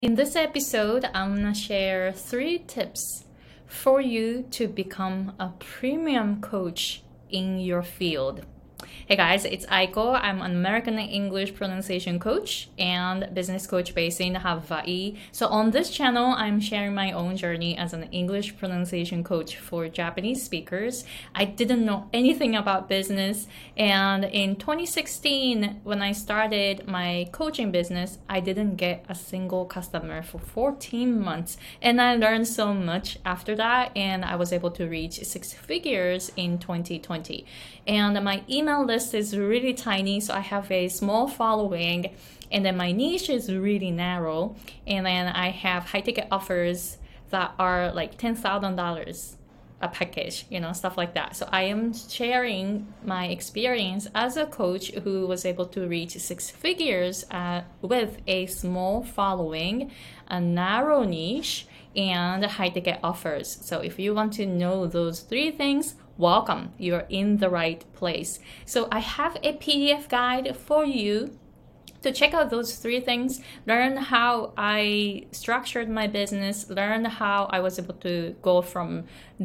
In this episode, I'm gonna share 3 tips for you to become a premium coach in your field. Hey guys, it's Aiko. I'm an American English pronunciation coach and business coach based in Hawaii. So on this channel, I'm sharing my own journey as an English pronunciation coach for Japanese speakers. I didn't know anything about business, and in 2016, when I started my coaching business, I didn't get a single customer for 14 months. And I learned so much after that, and I was able to reach 6 figures in 2020. And my email list is really tiny, so I have a small following, and then my niche is really narrow, and then I have high ticket offers that are like $10,000 a package, stuff like that. So I am sharing my experience as a coach who was able to reach 6 figures with a small following, a narrow niche, and high ticket offers. So if you want to know those 3 things, welcome, you're in the right place. So I have a PDF guide for you to check out those 3 things, learn how I structured my business, learn how I was able to go from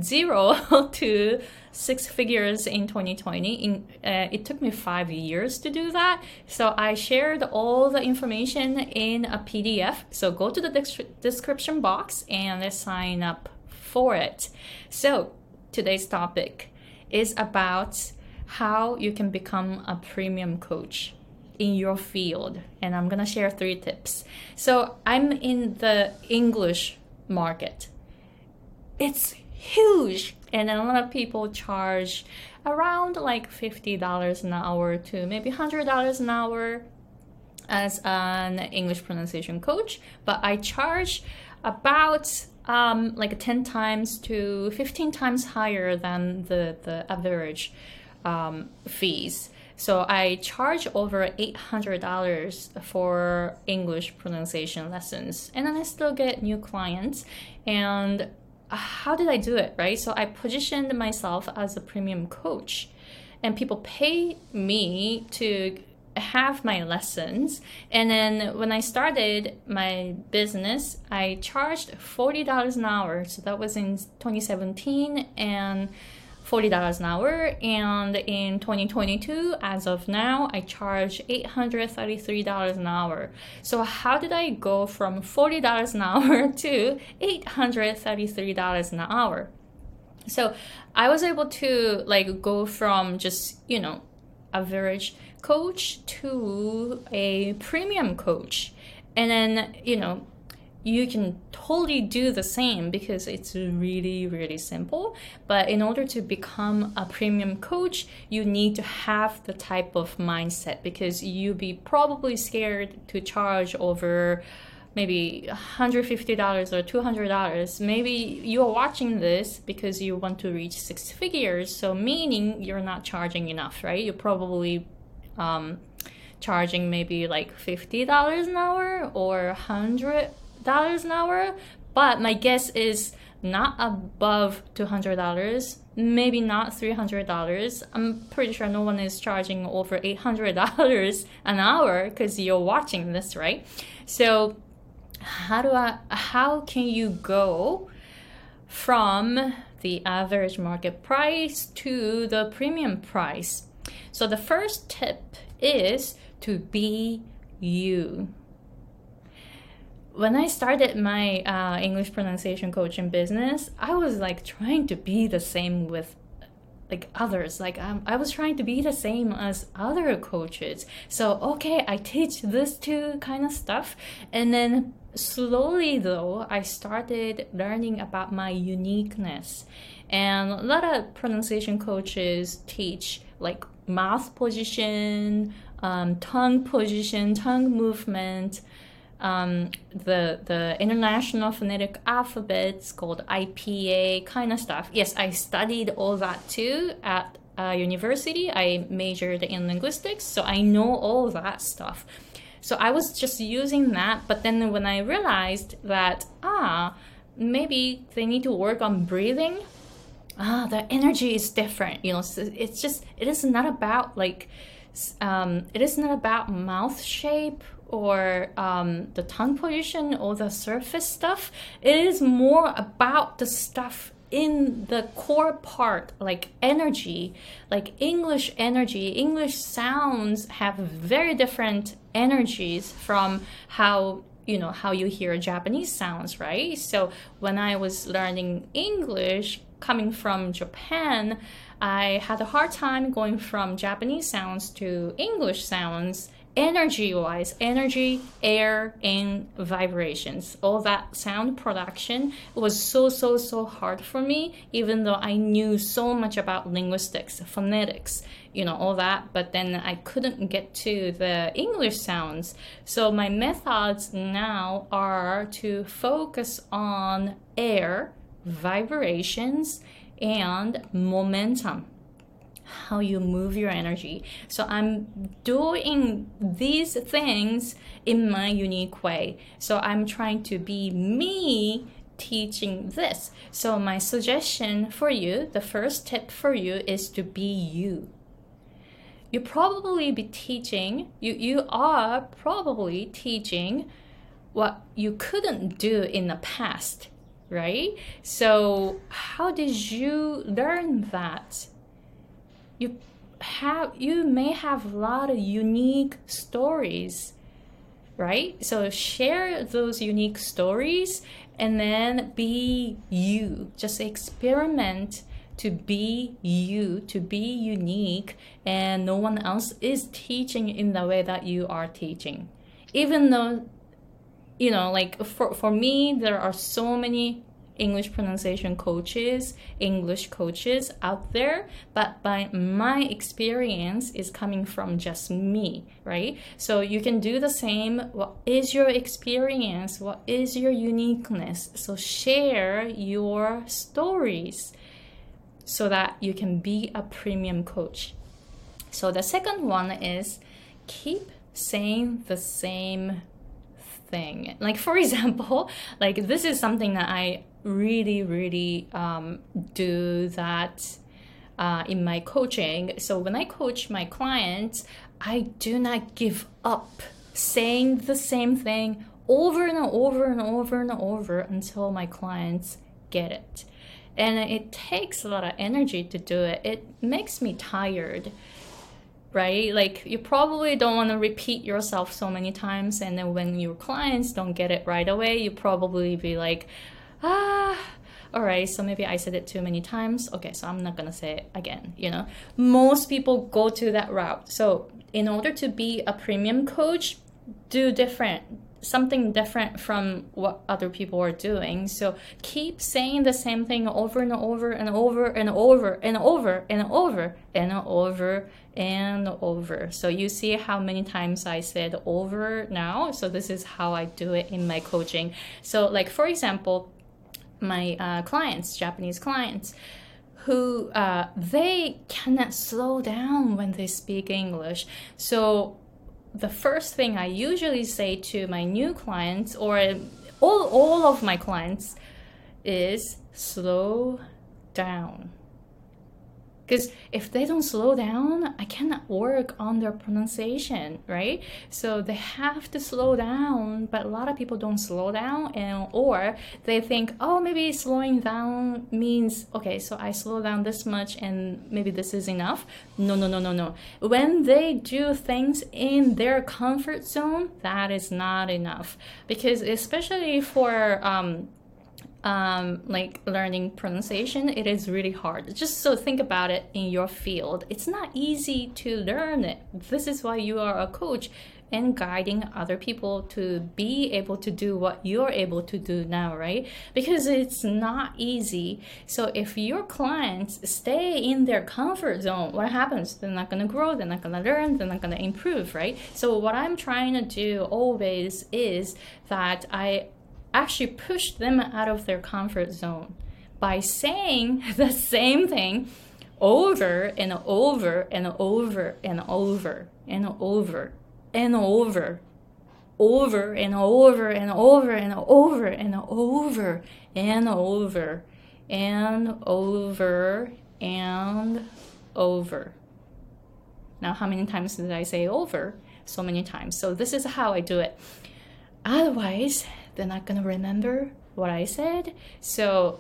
0 to 6 figures in 2020. It took me 5 years to do that. So I shared all the information in a PDF. So go to the description box and sign up for it. So today's topic is about how you can become a premium coach in your field, and I'm gonna share 3 tips. So I'm in the English market. It's huge, and a lot of people charge around like $50 an hour to maybe $100 an hour as an English pronunciation coach, but I charge about like 10 times to 15 times higher than the average fees. So I charge over $800 for English pronunciation lessons, and then I still get new clients. And how did I do it, right? So I positioned myself as a premium coach, and people pay me to have my lessons. And then when I started my business, I charged $40 an hour. So that was in 2017, and $40 an hour. And in 2022, as of now, I charge $833 an hour. So how did I go from $40 an hour to $833 an hour? So I was able to go from just, average coach to a premium coach. And then, you can totally do the same because it's really, really simple. But in order to become a premium coach, you need to have the type of mindset, because you'll be probably scared to charge over maybe $150 or $200. Maybe you're watching this because you want to reach 6 figures, so meaning you're not charging enough, right? You're probably charging maybe like $50 an hour or $100 an hour, but my guess is not above $200, maybe not $300. I'm pretty sure no one is charging over $800 an hour because you're watching this, right? So how can you go from the average market price to the premium price? So the first tip is to be you. When I started my English pronunciation coaching business, I was trying to be the same with others. I was trying to be the same as other coaches. So okay, I teach this too kind of stuff. And then slowly though, I started learning about my uniqueness. And a lot of pronunciation coaches teach mouth position, tongue position, tongue movement, the International Phonetic Alphabets called IPA kind of stuff. Yes, I studied all that too at university. I majored in linguistics, so I know all that stuff. So I was just using that, but then when I realized that maybe they need to work on breathing, the energy is different. It is not about it is not about mouth shape or the tongue position or the surface stuff. It is more about the stuff in the core part, like energy, like English energy. English sounds have very different energies from how you hear Japanese sounds, right? So when I was learning English coming from Japan, I had a hard time going from Japanese sounds to English sounds, energy-wise, energy, air, and vibrations. All that sound production was so hard for me, even though I knew so much about linguistics, phonetics, all that, but then I couldn't get to the English sounds. So my methods now are to focus on air, vibrations, and momentum, how you move your energy. So I'm doing these things in my unique way. So I'm trying to be me teaching this. So my suggestion for you, the first tip for you, is to be you. You probably be teaching, you are probably teaching what you couldn't do in the past, right? So how did you learn that? You may have a lot of unique stories, right? So share those unique stories and then be you. Just experiment to be you, to be unique, and no one else is teaching in the way that you are teaching. Even though, like for me, there are so many English pronunciation coaches, English coaches out there, but by my experience is coming from just me, right? So you can do the same. What is your experience? What is your uniqueness? So share your stories so that you can be a premium coach. So the second one is keep saying the same thing. Like, for example, like this is something that I really do that in my coaching. So when I coach my clients, I do not give up saying the same thing over and over and over and over until my clients get it. And it takes a lot of energy to do it. It makes me tired, right? Like you probably don't want to repeat yourself so many times, and then when your clients don't get it right away, you probably be like, all right, so maybe I said it too many times. Okay, so I'm not gonna say it again, Most people go to that route. So in order to be a premium coach, do something different from what other people are doing. So keep saying the same thing over and over and over and over and over and over and over and over. So you see how many times I said over now. So this is how I do it in my coaching. So like, for example, my clients, Japanese clients, who they cannot slow down when they speak English. So the first thing I usually say to my new clients, or all of my clients, is slow down. Because if they don't slow down, I cannot work on their pronunciation, right? So they have to slow down, but a lot of people don't slow down, or they think, oh, maybe slowing down means, okay, so I slow down this much and maybe this is enough. No. When they do things in their comfort zone, that is not enough. Because especially for like learning pronunciation, it is really hard. Just so think about it in your field. It's not easy to learn it. This is why you are a coach and guiding other people to be able to do what you're able to do now, right? Because it's not easy. So if your clients stay in their comfort zone, what happens? They're not going to grow, they're not going to learn, they're not going to improve, right? So what I'm trying to do always is that I actually push them out of their comfort zone by saying the same thing over and over and over and over and over and over, over and over and over and over and over and over and over and over. Now, how many times did I say over? so many times. So this is how I do it. Otherwise, they're not gonna remember what I said. So,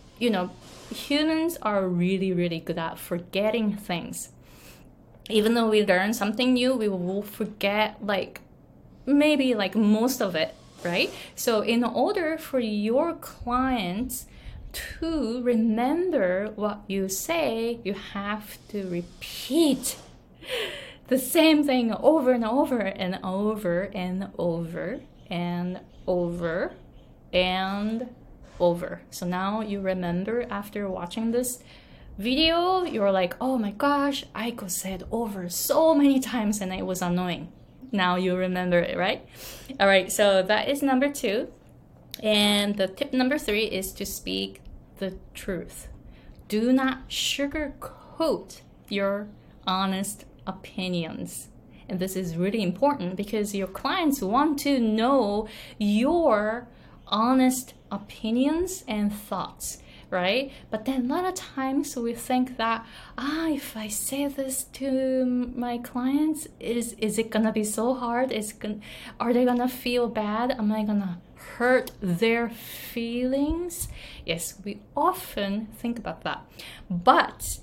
humans are really, really good at forgetting things. Even though we learn something new, we will forget maybe most of it, right? So in order for your clients to remember what you say, you have to repeat the same thing over and over and over and over and over and over. So now you remember after watching this video, you're like, oh my gosh, Aiko said over so many times and it was annoying. Now you remember it, right? All right, so that is number 2. And the tip number 3 is to speak the truth. Do not sugarcoat your honest opinions. And this is really important because your clients want to know your honest opinions and thoughts, right? But then a lot of times we think that, if I say this to my clients, is it gonna be so hard? Are they gonna feel bad? Am I gonna hurt their feelings? Yes, we often think about that. But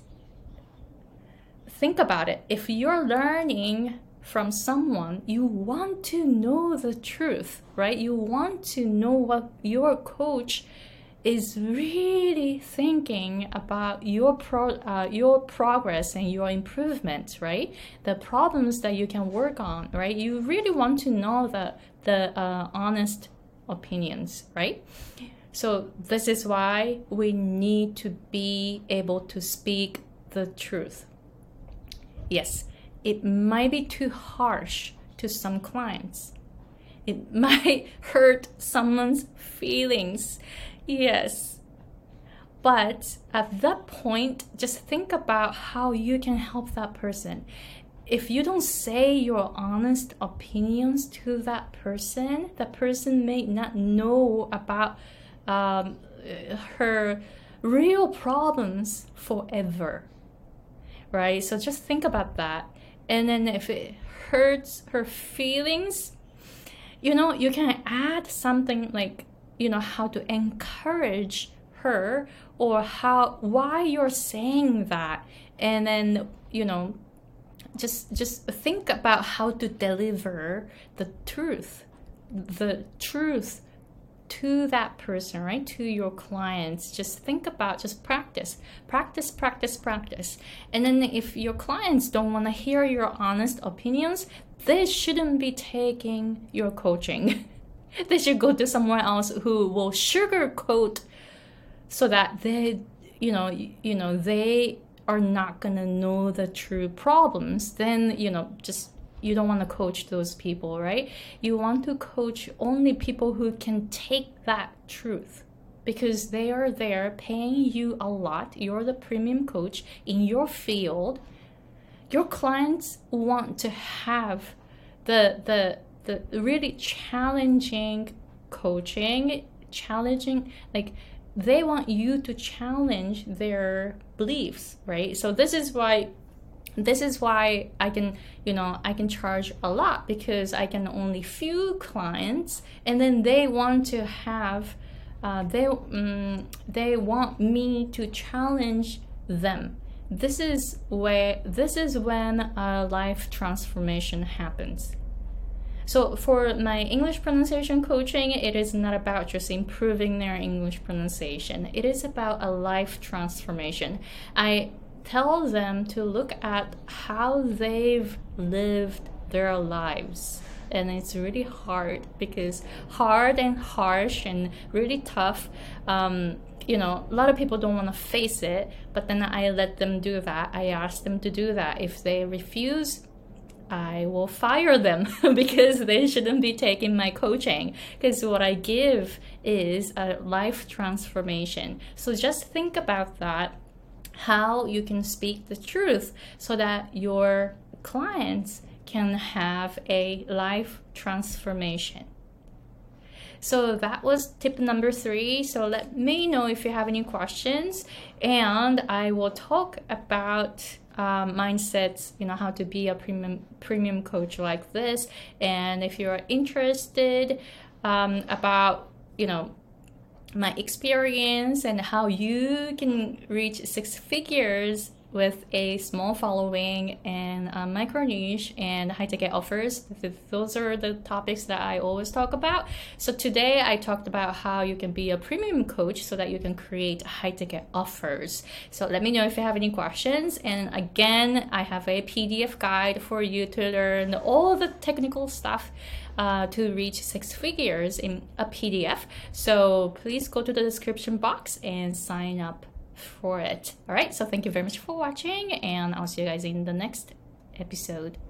think about it. If you're learning from someone, you want to know the truth, right? You want to know what your coach is really thinking about your progress and your improvement, right? The problems that you can work on, right? You really want to know the honest opinions, right? So this is why we need to be able to speak the truth. Yes, it might be too harsh to some clients. It might hurt someone's feelings. Yes. But at that point, just think about how you can help that person. If you don't say your honest opinions to that person may not know about her real problems forever, right? So just think about that. And then if it hurts her feelings, you can add something like, how to encourage her or why you're saying that. And then, just think about how to deliver the truth to that person, right? To your clients. Just practice. And then if your clients don't want to hear your honest opinions, they shouldn't be taking your coaching. They should go to someone else who will sugarcoat so that they are not gonna know the true problems. Then you don't want to coach those people, right? You want to coach only people who can take that truth, because they are there paying you a lot. You're the premium coach in your field. Your clients want to have the really challenging coaching, they want you to challenge their beliefs, right? So this is why I can charge a lot, because I can only few clients, and then they want to have they want me to challenge them. This is when a life transformation happens. So for my English pronunciation coaching, it is not about just improving their English pronunciation. It is about a life transformation. I tell them to look at how they've lived their lives. And it's really hard and harsh and really tough. A lot of people don't want to face it, but then I let them do that. I ask them to do that. If they refuse, I will fire them because they shouldn't be taking my coaching, because what I give is a life transformation. So just think about that, how you can speak the truth so that your clients can have a life transformation. So that was tip number 3. So let me know if you have any questions, and I will talk about mindsets, how to be a premium coach like this. And if you're interested about, my experience and how you can reach 6 figures with a small following and a micro niche and high ticket offers. Those are the topics that I always talk about. So today I talked about how you can be a premium coach so that you can create high ticket offers. So let me know if you have any questions. And again, I have a PDF guide for you to learn all the technical stuff to reach 6 figures in a PDF. So please go to the description box and sign up for it. All right, so thank you very much for watching, and I'll see you guys in the next episode.